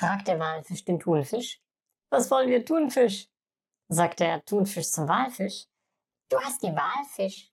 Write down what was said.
fragt der Walfisch den Thunfisch. Was wollen wir tun, Fisch? Sagt der Thunfisch zum Walfisch. Du hast die Wahl, Fisch.